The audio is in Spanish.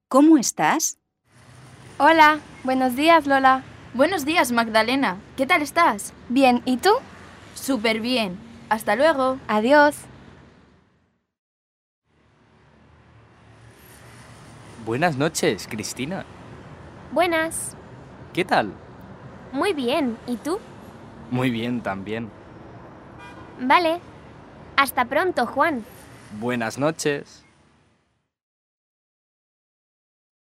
¿Cómo estás? Hola, buenos días, Lola. Buenos días, Magdalena. ¿Qué tal estás? Bien, ¿y tú? Súper bien. Hasta luego. Adiós. Buenas noches, Cristina. Buenas. ¿Qué tal? Muy bien. ¿Y tú? Muy bien también. Vale. Hasta pronto, Juan. Buenas noches.